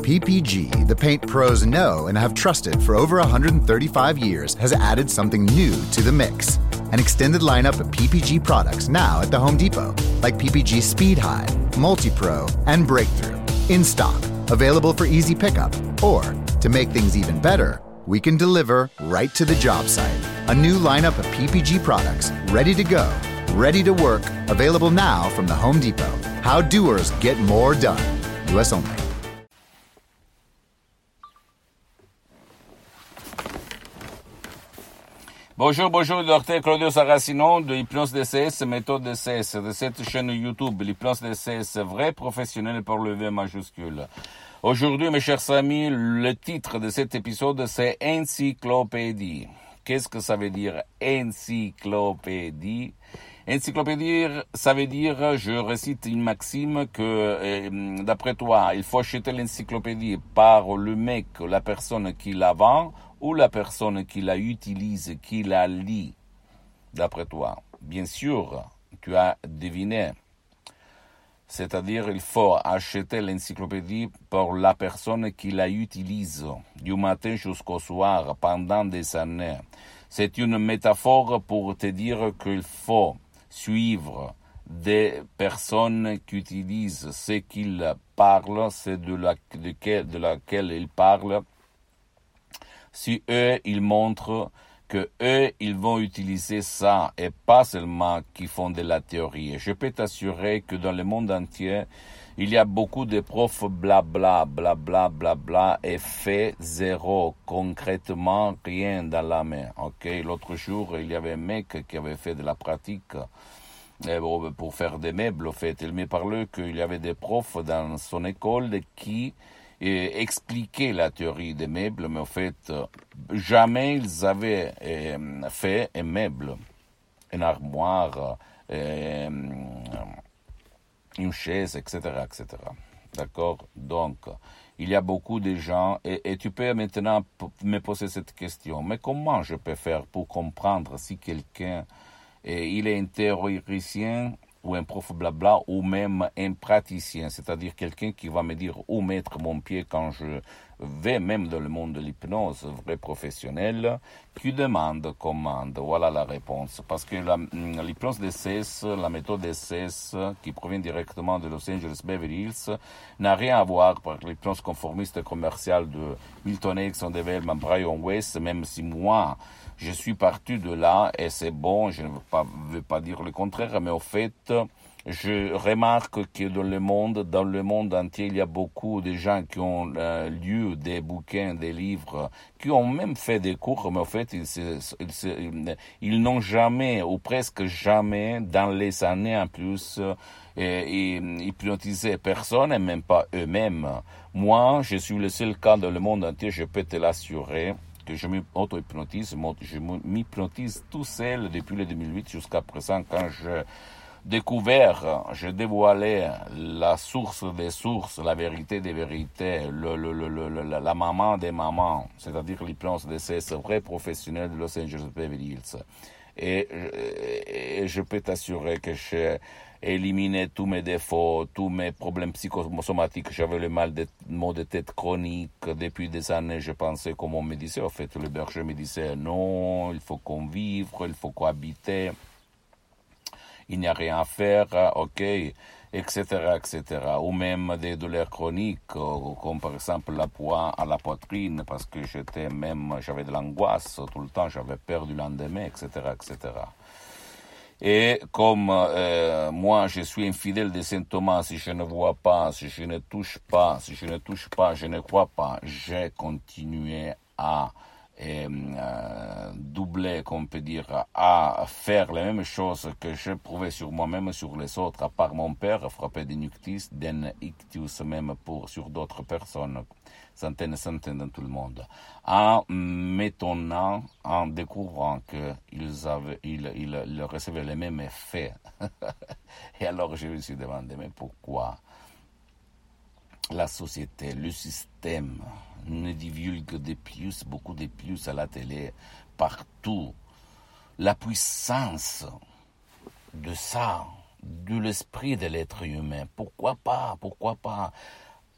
PPG, the paint pros know and have trusted for over 135 years, has added something new to the mix. An extended lineup of PPG products now at the Home Depot, like PPG Speed High, Multi-Pro, and Breakthrough. In stock, available for easy pickup, or, to make things even better, we can deliver right to the job site. A new lineup of PPG products, ready to go, ready to work, available now from the Home Depot. How doers get more done. US only. Bonjour, docteur Claudio Saracino de Hypnose DCS, méthode DCS, de cette chaîne YouTube, l'Hypnose DCS, vrai professionnel pour le V majuscule. Aujourd'hui, mes chers amis, le titre de cet épisode, c'est Encyclopédie. Qu'est-ce que ça veut dire, encyclopédie? Encyclopédie, ça veut dire, je récite une maxime que, d'après toi, il faut acheter l'encyclopédie par le mec, la personne qui la vend, ou la personne qui la utilise, qui la lit, d'après toi. Bien sûr, tu as deviné. C'est-à-dire, il faut acheter l'encyclopédie pour la personne qui la utilise, du matin jusqu'au soir, pendant des années. C'est une métaphore pour te dire qu'il faut suivre des personnes qui utilisent ce qu'ils parlent, c'est de laquelle ils parlent. Si eux, ils montrent que eux, ils vont utiliser ça et pas seulement qu'ils font de la théorie. Je peux t'assurer que dans le monde entier, il y a beaucoup de profs blabla, blabla, blabla et fait zéro, concrètement rien dans la main. Ok, l'autre jour, il y avait un mec qui avait fait de la pratique pour faire des meubles. En fait, il me parlait qu'il y avait des profs dans son école qui expliquer la théorie des meubles, mais en fait, jamais ils avaient fait un meuble, une armoire, une chaise, etc., etc. D'accord? Donc, il y a beaucoup de gens, et tu peux maintenant me poser cette question, mais comment je peux faire pour comprendre si quelqu'un, il est un théoricien, ou un prof blabla, ou même un praticien, c'est-à-dire quelqu'un qui va me dire où mettre mon pied quand je vais même dans le monde de l'hypnose, vrai professionnel, qui demande commande. Voilà la réponse. Parce que l'hypnose DCS, la méthode DCS, qui provient directement de Los Angeles Beverly Hills, n'a rien à voir avec l'hypnose conformiste et commerciale de Milton Erickson, de Wellman, Brian Weiss, même si moi, je suis parti de là, et c'est bon, je ne veux pas dire le contraire, mais au fait, je remarque que dans le monde entier, il y a beaucoup de gens qui ont lu des bouquins, des livres, qui ont même fait des cours, mais au fait, ils n'ont jamais, ou presque jamais, dans les années en plus, hypnotisé personne, et même pas eux-mêmes. Moi, je suis le seul cas dans le monde entier, je peux te l'assurer, que je m'auto-hypnotise, je m'hypnotise tout seul depuis le 2008 jusqu'à présent, quand je dévoilé la source des sources, la vérité des vérités, la maman des mamans, c'est-à-dire l'hypnose de ces vrais professionnels de Los Angeles Beverly Hills. Et je peux t'assurer que j'ai éliminé tous mes défauts, tous mes problèmes psychosomatiques. J'avais le maux de tête chronique. Depuis des années, je pensais, comme on me disait, en fait, le berger me disait, non, il faut convivre, il faut cohabiter, il n'y a rien à faire, ok, etc., etc. Ou même des douleurs chroniques, comme par exemple la poids à la poitrine, parce que j'avais de l'angoisse tout le temps, j'avais peur du lendemain, etc., etc. Et comme moi, je suis infidèle de Saint Thomas, si je ne vois pas, si je ne touche pas, je ne crois pas, j'ai continué à doubler, qu'on peut dire, à faire les mêmes choses que je prouvais sur moi-même, sur les autres, à part mon père, frappé d'un ictus même sur d'autres personnes, centaines dans tout le monde, en m'étonnant, en découvrant qu'ils recevaient les mêmes effets. Et alors je me suis demandé, mais pourquoi la société, le système ne divulgue beaucoup de plus à la télé, partout, la puissance de ça, de l'esprit de l'être humain. Pourquoi pas?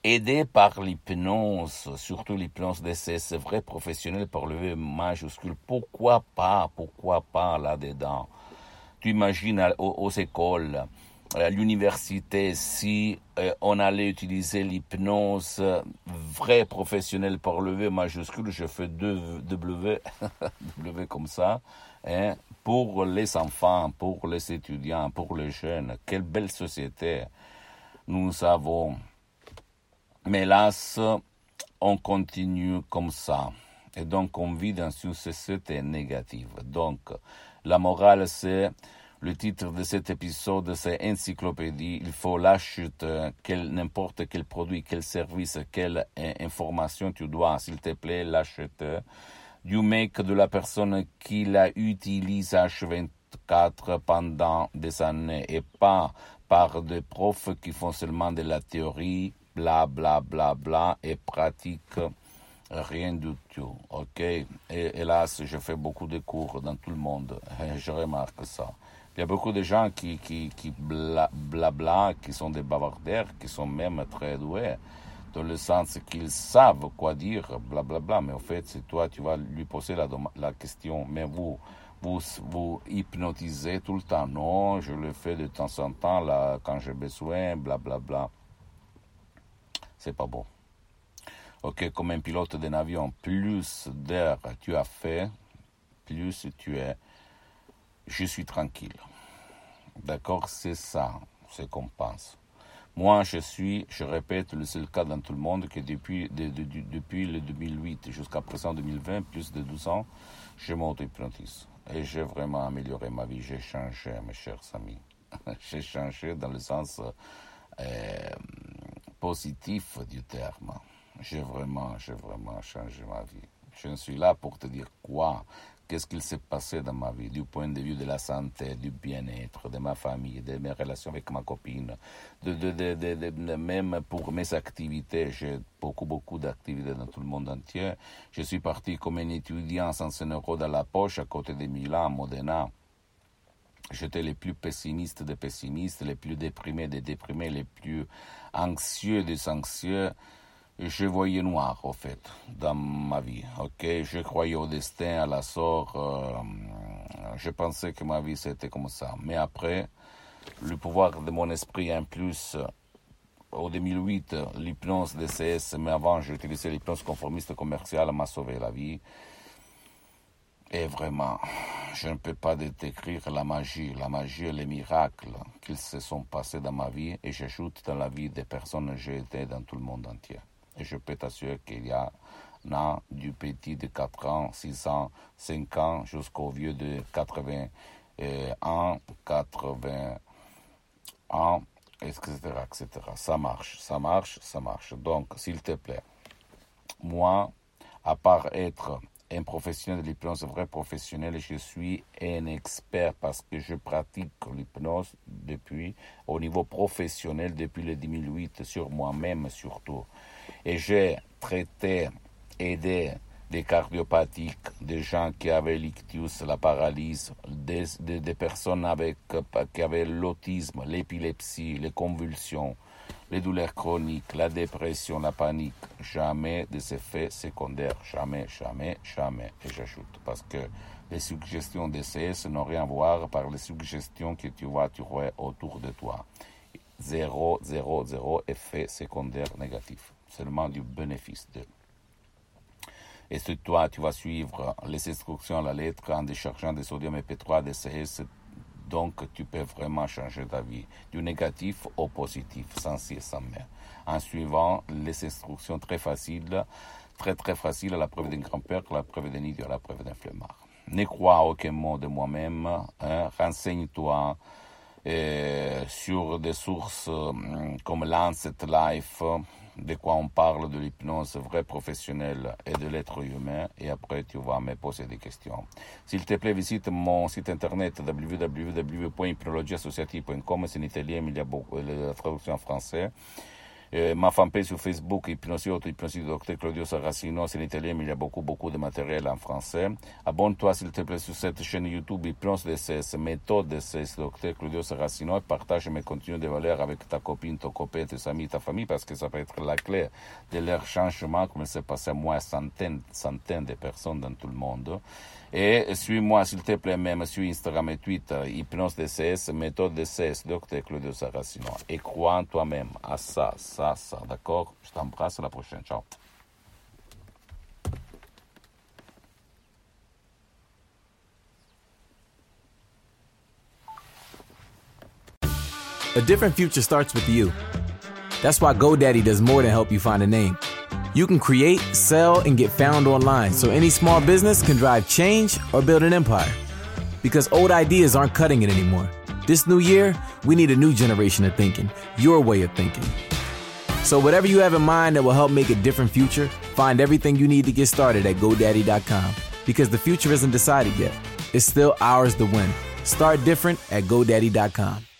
aidé par l'hypnose, surtout l'hypnose DCS, vrai professionnel par le V majuscule. Pourquoi pas là-dedans? Tu imagines aux écoles, à l'université, si on allait utiliser l'hypnose vrai professionnel par le V majuscule, je fais deux W, W comme ça, hein, pour les enfants, pour les étudiants, pour les jeunes. Quelle belle société nous avons. Mais hélas, on continue comme ça. Et donc, on vit dans une société négative. Donc, la morale, c'est, le titre de cet épisode, c'est Encyclopédie. Il faut l'acheter, n'importe quel produit, quel service, quelle information tu dois, s'il te plaît, l'acheter. Du mec, de la personne qui la utilise H24 pendant des années et pas par des profs qui font seulement de la théorie, bla bla bla bla, et pratique rien du tout, ok? Et hélas, je fais beaucoup de cours dans tout le monde, et je remarque ça. Il y a beaucoup de gens qui bla, qui sont des bavardaires, qui sont même très doués, dans le sens qu'ils savent quoi dire, bla bla bla, mais en fait, c'est toi, tu vas lui poser la question, mais vous hypnotisez tout le temps. Non, je le fais de temps en temps, là, quand j'ai besoin, bla bla bla. C'est pas bon. Ok, comme un pilote d'un avion, plus d'air tu as fait, plus tu es. Je suis tranquille. D'accord, c'est ça, c'est qu'on pense. Moi, je répète, le seul cas dans tout le monde que depuis le 2008 jusqu'à présent 2020, plus de 12 ans, je m'auto-hypnotise. Et j'ai vraiment amélioré ma vie. J'ai changé, mes chers amis. J'ai changé dans le sens positif du terme. J'ai vraiment changé ma vie. Je suis là pour te dire quoi, qu'est-ce qu'il s'est passé dans ma vie, du point de vue de la santé, du bien-être, de ma famille, de mes relations avec ma copine, même pour mes activités. J'ai beaucoup d'activités dans tout le monde entier. Je suis parti comme un étudiant sans 100 € dans la poche à côté de Milan, Modena. J'étais les plus pessimistes des pessimistes, les plus déprimés des déprimés, les plus anxieux des anxieux. Je voyais noir, au fait, dans ma vie, ok? Je croyais au destin, à la sort, je pensais que ma vie c'était comme ça. Mais après, le pouvoir de mon esprit, en plus, au 2008, l'hypnose DCS, mais avant j'utilisais l'hypnose conformiste commerciale, m'a sauvé la vie. Et vraiment, je ne peux pas décrire la magie et les miracles qui se sont passés dans ma vie, et j'ajoute dans la vie des personnes que j'ai été dans tout le monde entier. Et je peux t'assurer qu'il y a du petit de 4 ans, 6 ans, 5 ans, jusqu'au vieux de 80 ans, etc., etc. Ça marche. Donc, s'il te plaît, moi, à part être un professionnel de l'hypnose, vrai professionnel, je suis un expert parce que je pratique l'hypnose au niveau professionnel depuis le 2008, sur moi-même surtout. Et j'ai aidé des cardiopathiques, des gens qui avaient l'ictus, la paralysie, des personnes qui avaient l'autisme, l'épilepsie, les convulsions, les douleurs chroniques, la dépression, la panique. Jamais des effets secondaires. Jamais. Et j'ajoute, parce que les suggestions DCS n'ont rien à voir par les suggestions que tu vas trouver autour de toi. Zéro effet secondaire négatif. Seulement du bénéfice de. Et si toi, tu vas suivre les instructions à la lettre en déchargeant des sodium MP3 DCS, donc tu peux vraiment changer ta vie, du négatif au positif, sans si et sans mais, en suivant les instructions très faciles, très faciles, à la preuve d'un grand-père, à la preuve d'un idiot, à la preuve d'un flemmard. Ne crois à aucun mot de moi-même, renseigne-toi sur des sources comme Lancet Life, de quoi on parle de l'hypnose vraie professionnelle et de l'être humain, et après tu vas me poser des questions. S'il te plaît, visite mon site internet www.hypnologieassociative.com, c'est en italien, mais il y a la traduction en français. Ma fanpage sur Facebook, Hypnosie Auto, Hypnosie du Dr Claudio Saracino, c'est en italien, mais il y a beaucoup de matériel en français. Abonne-toi s'il te plaît sur cette chaîne YouTube, Hypnose DCS, méthode DCS, Dr Claudio Saracino, et partage mes contenus de valeur avec ta copine, ton copain, tes amis, ta famille, parce que ça peut être la clé de leur changement, comme il s'est passé à moi, centaines de personnes dans tout le monde. Et suis-moi, s'il te plaît, même sur Instagram et Twitter, Hypnose DCS, méthode DCS, Dr Claudio Saracino. Et crois en toi-même, à ça, d'accord? Je t'embrasse, à la prochaine, ciao. A different future starts with you. That's why GoDaddy does more than help you find a name. You can create, sell, and get found online so any small business can drive change or build an empire. Because old ideas aren't cutting it anymore. This new year, we need a new generation of thinking, your way of thinking. So whatever you have in mind that will help make a different future, find everything you need to get started at GoDaddy.com. Because the future isn't decided yet. It's still ours to win. Start different at GoDaddy.com.